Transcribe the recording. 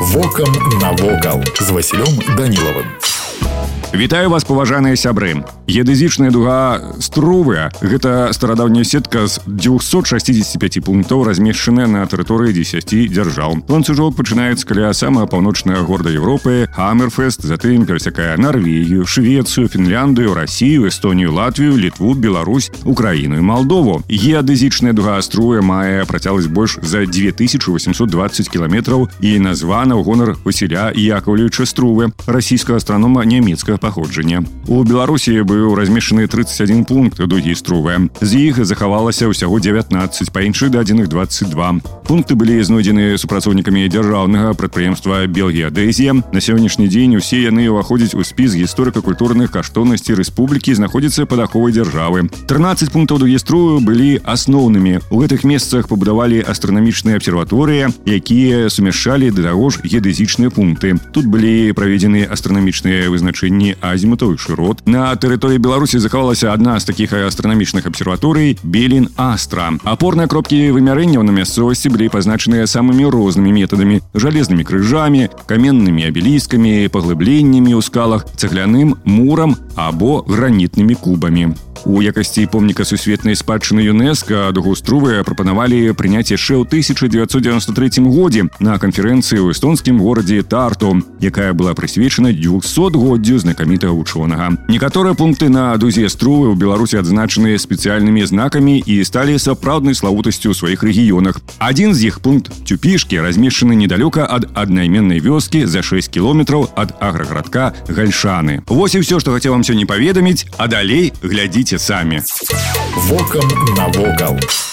Вокам навокал з Васілём Данілавым. Вітаю вас, паважаныя сябры. Геадэзічная дуга Струве – гэта старадаўняя сетка з 265 пунктаў, размешчаная на тэрыторыі 10 дзяржаў. Ланцужок пачынаецца каля самага паўночнага горада Европы, Хаммерфест, затым перасякае Нарвегію, Швецыю, Фінляндыю, Расію, Эстонію, Латвію, Літву, Беларусь, Украіну і Малдову. Геадэзічная дуга Струве мае працягласць больш за 2820 кіламетраў і названа ў гонар Васіля Яковлевіча Струве, расійскага астранома нямецкага паходжання. У Беларусі быў размешчаны 31 пункт дугі Струве. З іх захавалася ўсяго 19, па іншых дадзеных 22. Пункты былі знойдзены супрацоўнікамі дзяржаўнага прадпрыемства Белгеадэзія. На сённяшні дзень усе яны ўваходзяць у спіс гісторыка-культурных каштоўнасцей рэспублікі, знаходзяцца пад аховай дзяржавы. 13 пунктаў дугі Струве былі асноўнымі. У гэтых месцах пабудавалі астранамічныя абсерваторыі, якія сумяшчалі да таго ж геадэзічныя пункты. Тут былі праведзены астранамічныя вызначэнні азімутаў і шырот. На тэрыторыі Беларусі захавалася адна з такіх астранамічных абсерваторый – Белін-Астра. Апорныя кропкі вымярэнняў на мясцовасці былі пазначаныя самымі рознымі метадамі – жалезнымі крыжамі, каменнымі абеліскамі, паглыбленнямі ў скалах, цэгляным мурам або гранітнымі кубамі. У якасці помніка сусветнай спадчыны ЮНЕСКО дугу Струве прапанавалі прыняць яшчэ ў 1993 годзе на канферэнцыі ў эстонскім горадзе Тарту, якая была прысвечана 200-годдзю знакамітага вучонага. Некаторыя пункты на дузе Струве ў Беларусі адзначаны спецыяльнымі знакамі і сталі сапраўднай славутасцю ў сваіх рэгіёнах. Адзін з іх, пункт Цюпішкі, размешчаны недалёка ад аднайменнай вёскі за 6 кіламетраў ад аграгарадка Гальшаны. Вось і ўсё, што хацеў вам сёння паведаміць, а далей глядзіце самі. Вокам навокал.